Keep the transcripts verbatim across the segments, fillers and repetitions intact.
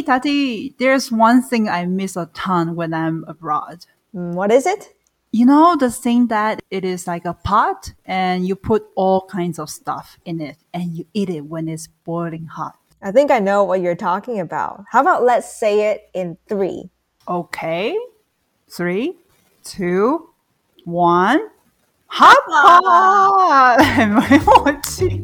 Hey, Tati, there's one thing I miss a ton when I'm abroad. Mm, what is it? You know, the thing that it is like a pot and you put all kinds of stuff in it and you eat it when it's boiling hot. I think I know what you're talking about. How about let's say it in three? Okay. Three, two, one. Hot pot! 没默契。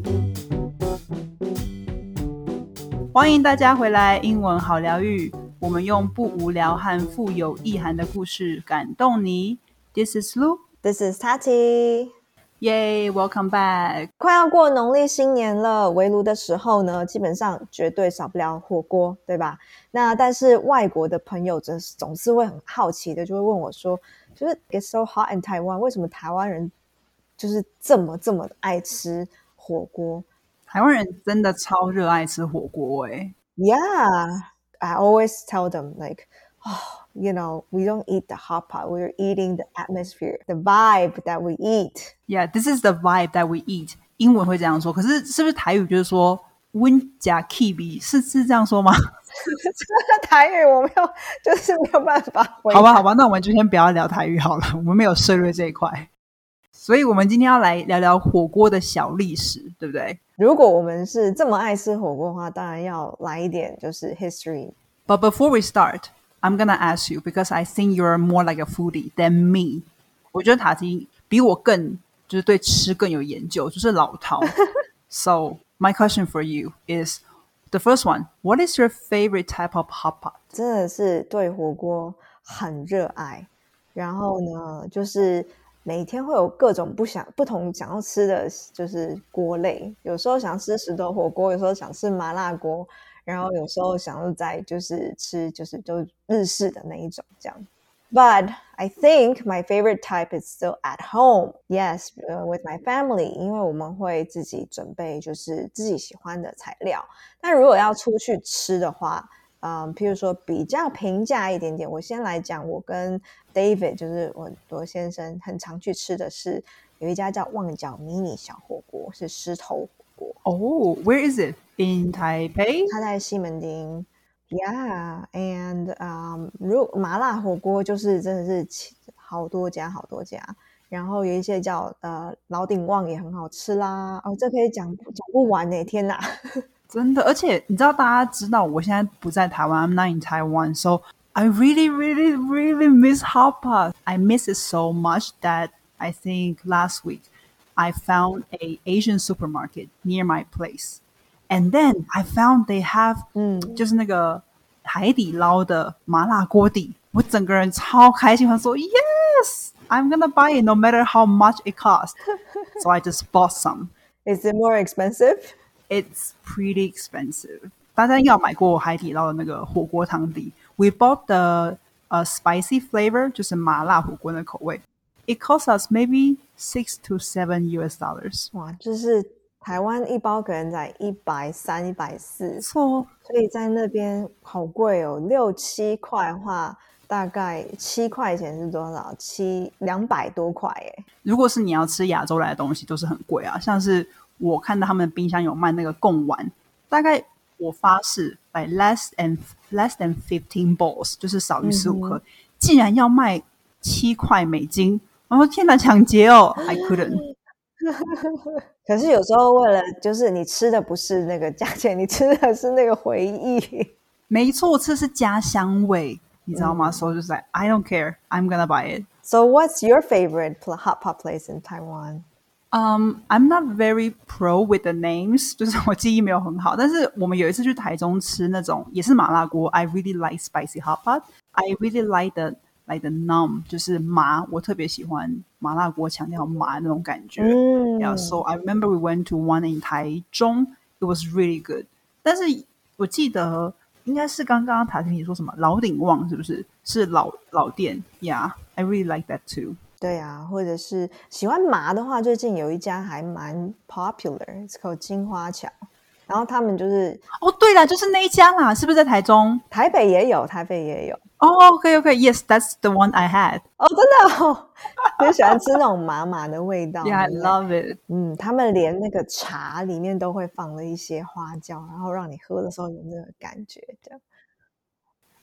欢迎大家回来，英文好疗愈。我们用不无聊和富有意涵的故事感动你。This is Lu. This is Tati. Yay, welcome back. 快要过农历新年了，围炉的时候呢，基本上绝对少不了火锅，对吧？那但是外国的朋友总总是会很好奇的，就会问我说，就是 It's so hot in Taiwan， 为什么台湾人就是这么这么爱吃火锅？ 台湾人真的超热爱吃火锅诶。 Yeah, I always tell them like, oh, you know, we don't eat the hot pot. We're eating the atmosphere, the vibe that we eat. Yeah, this is the vibe that we eat. 英文会这样说，可是是不是台语就是说温加 kiwi 是是这样说吗？ 台语我没有，就是没有办法回答。 好吧，好吧，那我们就先不要聊台语好了，我们没有涉猎这一块。所以我们今天要来聊聊火锅的小历史，对不对？ 如果我们是这么爱吃火锅的话，当然要来一点就是 history. But before we start, I'm gonna ask you because I think you're more like a foodie than me. 我觉得塔基比我更就是对吃更有研究，就是老饕。So my question for you is the first one. What is your favorite type of hot pot? 真的是对火锅很热爱，然后呢，就是每天会有各种不想不同想要吃的就是锅类，有时候想吃石头火锅，有时候想吃麻辣锅，然后有时候想要在就是吃就是就日式的那一种这样。But I think my favorite type is still at home. Yes, uh, with my family. 因为我们会自己准备就是自己喜欢的材料。但如果要出去吃的话，嗯，譬如说比较平价一点点，我先来讲，我跟 David 就是我我先生很常去吃的是有一家叫旺角迷你小火锅，是狮头火锅。 Oh, where is it? In Taipei? 它在西门町。Yeah, and um, 如麻辣火锅就是真的是好多家好多家，然后有一些叫呃老鼎旺也很好吃啦。哦，这可以讲讲不完耶，天哪！ 真的，而且你知道，大家知道我现在不在台湾 ，I'm not in Taiwan, so I really, really, really miss hot pot. I miss it so much that I think last week I found a Asian supermarket near my place, and then I found they have 嗯， 就是那个海底捞的麻辣锅底，我整个人超开心，我说 Yes, I'm gonna buy it no matter how much it costs. So I just bought some. Is it more expensive? It's pretty expensive. 大家应该有买过海底捞的那个火锅汤底。We bought the uh, spicy flavor, 就是麻辣火锅的口味。It cost us maybe six to seven U S dollars. 哇，就是台湾一包可能才一百三、一百四， 错， 所以在那边好贵哦，六七块的话，大概七块钱是多少？七两百多块耶。 如果是你要吃亚洲来的东西，都是很贵啊。像是我看到他们的冰箱有卖那个贡丸，大概我发誓 like less than less than fifteen balls， 就是少于十五颗，竟然要卖七块美金！我说天哪，抢劫哦 ！I couldn't。 可是有时候为了就是你吃的不是那个价钱，你吃的是那个回忆。 没错，我吃的是家乡味，你知道吗？所以就是 like I don't care, I'm gonna buy it. So what's your favorite hot pot place in Taiwan? Um, I'm not very pro with the names， 就是我记忆没有很好。但是我们有一次去台中吃那种也是麻辣锅 ，I really like spicy hot pot. I really like the like the numb， 就是麻，我特别喜欢麻辣锅强调麻那种感觉。 嗯 Yeah, so I remember we went to one in 台中 ，it was really good. 但是我记得应该是刚刚塔婷你说什么老鼎旺是不是？是老老店 ，Yeah, I really like that too. 对啊，或者是喜欢麻的话，最近有一家还蛮 popular， 是口金花桥，然后他们就是哦，对了，就是那一家啦，是不是在台中？ 台北也有，台北也有。 哦 ，OK OK，Yes, that's the one I had. 哦，真的哦，就喜欢吃那种麻麻的味道。 Yeah, I love it. 嗯，他们连那个茶里面都会放了一些花椒，然后让你喝的时候有那个感觉，这样。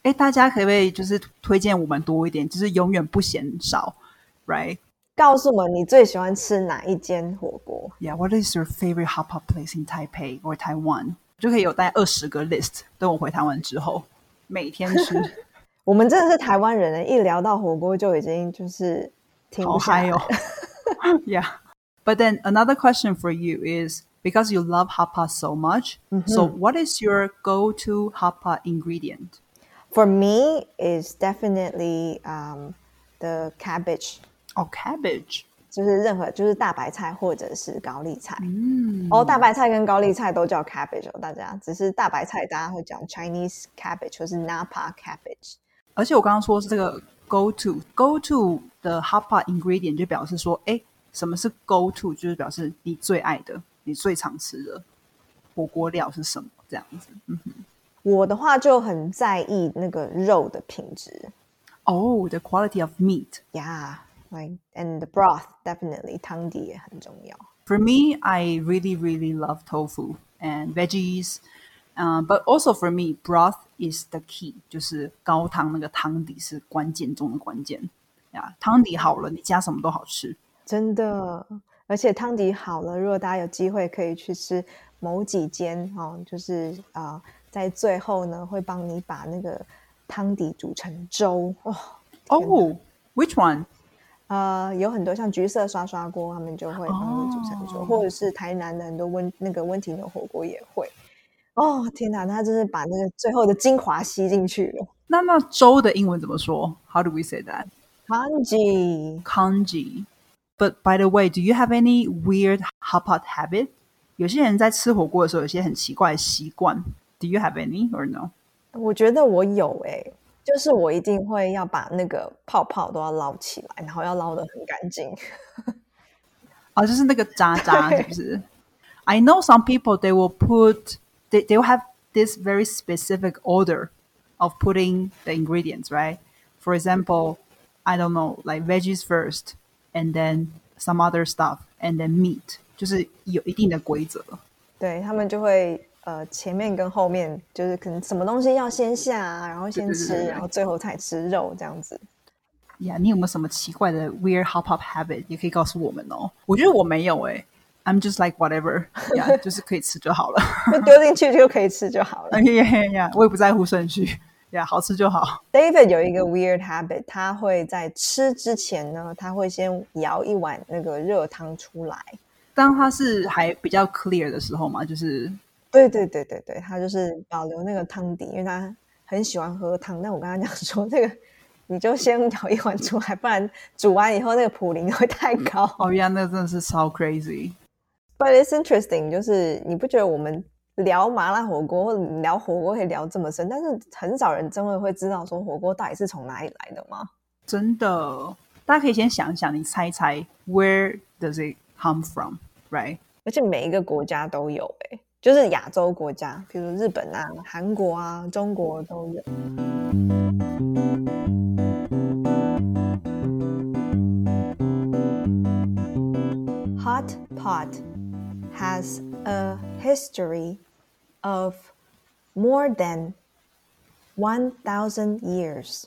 哎，大家可不可以就是推荐我们多一点，就是永远不嫌少 ，right？ 告诉我们你最喜欢吃哪一间火锅 Yeah, what is your favorite hot pot place in Taipei or Taiwan? 就可以有大概二十个 list，等我回台湾之后，每天吃。 我们真的是台湾人，一聊到火锅就已经就是停不下来了。 好嗨哦！Yeah, but then another question for you is because you love hot pot so much. Mm-hmm. So what is your go-to hot pot ingredient? For me, is definitely um, the cabbage. Oh, cabbage. 就是任何就是大白菜或者是高丽菜。嗯，哦，大白菜跟高丽菜都叫 cabbage 哦，大家只是大白菜大家会讲 Chinese cabbage 或是 Napa cabbage。 而且我刚刚说是这个 go to go to 的 hot pot ingredient 就表示说，哎，什么是 go to？ 就是表示你最爱的、你最常吃的火锅料是什么？这样子。嗯哼， 我的话就很在意那个肉的品质。 Oh, the quality of meat. Yeah, like and the broth definitely 汤底也很重要。 For me, I really, really love tofu and veggies. Um, but also for me, broth is the key. 就是高汤那个汤底是关键中的关键。呀，汤底好了，你加什么都好吃。 真的，而且汤底好了，如果大家有机会可以去吃某几间哦，就是呃，在最后呢会帮你把那个汤底煮成粥哦。 Oh, which one? 呃，有很多像橘色刷刷锅，他们就会帮你煮成粥， oh. 或者是台南的很多温那个温体牛火锅也会。哦，天哪，他就是把那个最后的精华吸进去了。 那那粥的英文怎么说 ？How do we say that? Congee. Congee. But by the way, do you have any weird hot pot habit? 有些人在吃火锅的时候有些很奇怪的习惯。Do you have any or no? 我觉得我有诶、欸，就是我一定会要把那个泡泡都要捞起来，然后要捞得很干净。 哦，就是那个渣渣，是不是？I know some people they will put they they will have this very specific order of putting the ingredients, right? For example, I don't know, like veggies first, and then some other stuff, and then meat. 就是有一定的规则。 对，他们就会呃前面跟后面就是可能什么东西要先下，然后先吃，对对对对，然后最后才吃肉这样子。 呀， yeah, 你有没有什么奇怪的 weird hot pot habit 也可以告诉我们哦。我觉得我没有诶、欸、I'm just like whatever， yeah, 就是可以吃就好了， 就丢进去就可以吃就好了。 yeah, yeah, yeah, 我也不在乎顺序， yeah, 好吃就好。 David 有一个 weird habit， 他会在吃之前呢，他会先舀一碗那个热汤出来。 当他是还比较 clear 的时候嘛，就是对对对对对，他就是保留那个汤底，因为他很喜欢喝汤。但我跟他讲说，这个你就先舀一碗出来，不然煮完以后那个普林会太高。 哦呀，那真的是超 crazy。But it's interesting， 就是你不觉得我们聊麻辣火锅或者聊火锅可以聊这么深，但是很少人真的会知道说火锅到底是从哪里来的吗？ 真的，大家可以先想一想，你猜一猜 ，Where does it come from, right? 而且每一个国家都有诶、欸，就是亚洲国家，比如日本啊、韩国啊、中国都有。Hot pot has a history of more than one thousand years,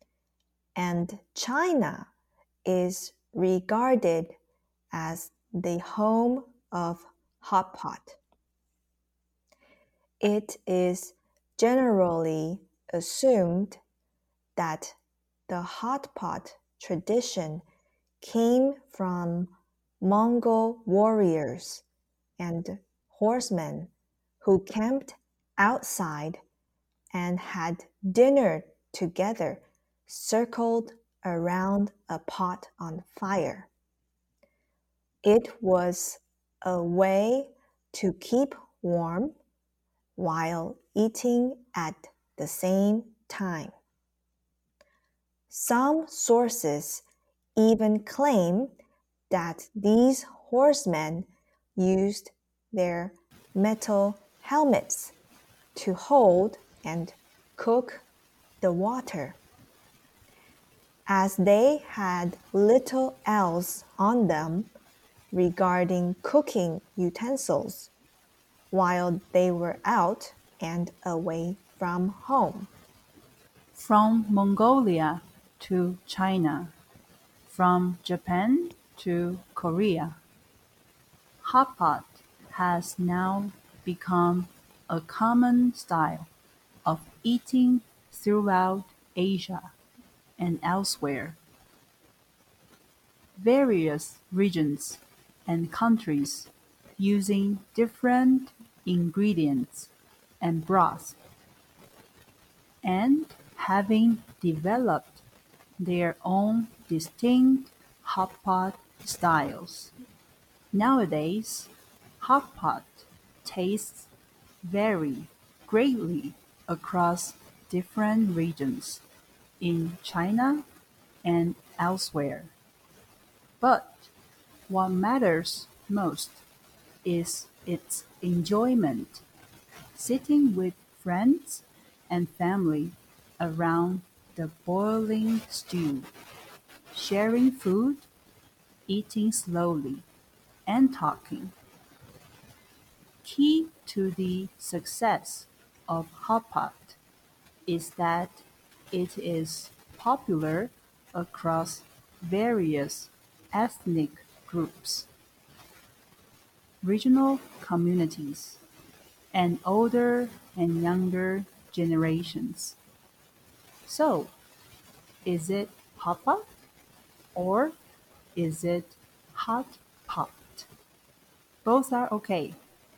and China is regarded as the home of hot pot. It is generally assumed that the hot pot tradition came from Mongol warriors and horsemen who camped outside and had dinner together, circled around a pot on fire. It was a way to keep warm while eating at the same time. Some sources even claim that these horsemen used their metal helmets to hold and cook the water. As they had little else on them regarding cooking utensils while they were out and away from home. From Mongolia to China, from Japan to Korea, hot pot has now become a common style of eating throughout Asia and elsewhere. Various regions and countries using different ingredients and broths and having developed their own distinct hot pot styles. Nowadays, hot pot tastes vary greatly across different regions in China and elsewhere. But what matters most is its enjoyment. Sitting with friends and family around the boiling stew, sharing food, eating slowly, and talking. Key to the success of hot pot is that it is popular across various ethnic groups, regional communities, and older and younger generations. So, is it hot pot or is it hot pot? Both are okay.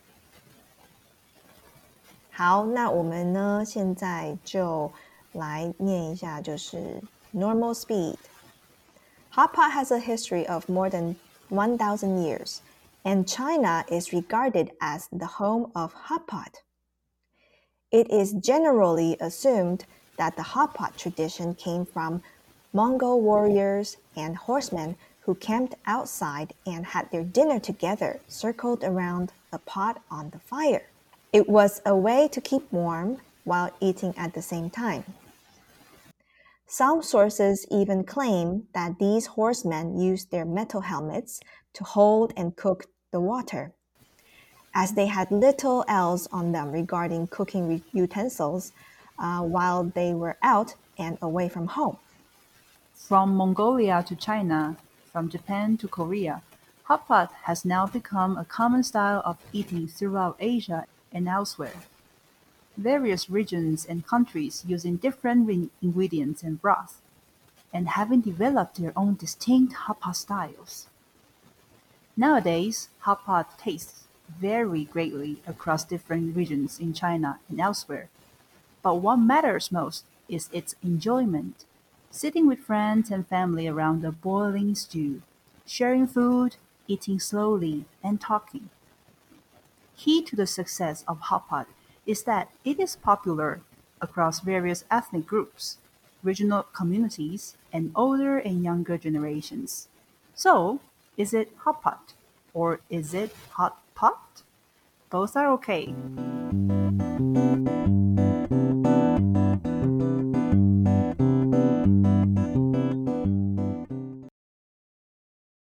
好，那我们呢，现在就来念一下，就是 normal speed. Hot pot has a history of more than one thousand years, and China is regarded as the home of hot pot. It is generally assumed that the hot pot tradition came from Mongol warriors and horsemen who camped outside and had their dinner together, circled around a pot on the fire. It was a way to keep warm while eating at the same time. Some sources even claim that these horsemen used their metal helmets to hold and cook the water, as they had little else on them regarding cooking utensils uh, while they were out and away from home. From Mongolia to China, from Japan to Korea, hot pot has now become a common style of eating throughout Asia and elsewhere. Various regions and countries using different re- ingredients and broths, and having developed their own distinct hot pot styles. Nowadays, hot pot tastes vary greatly across different regions in China and elsewhere. But what matters most is its enjoyment. Sitting with friends and family around a boiling stew, sharing food, eating slowly, and talking. Key to the success of hot pot is that it is popular across various ethnic groups, regional communities, and older and younger generations. So, is it hot pot or is it hot pot? Both are okay.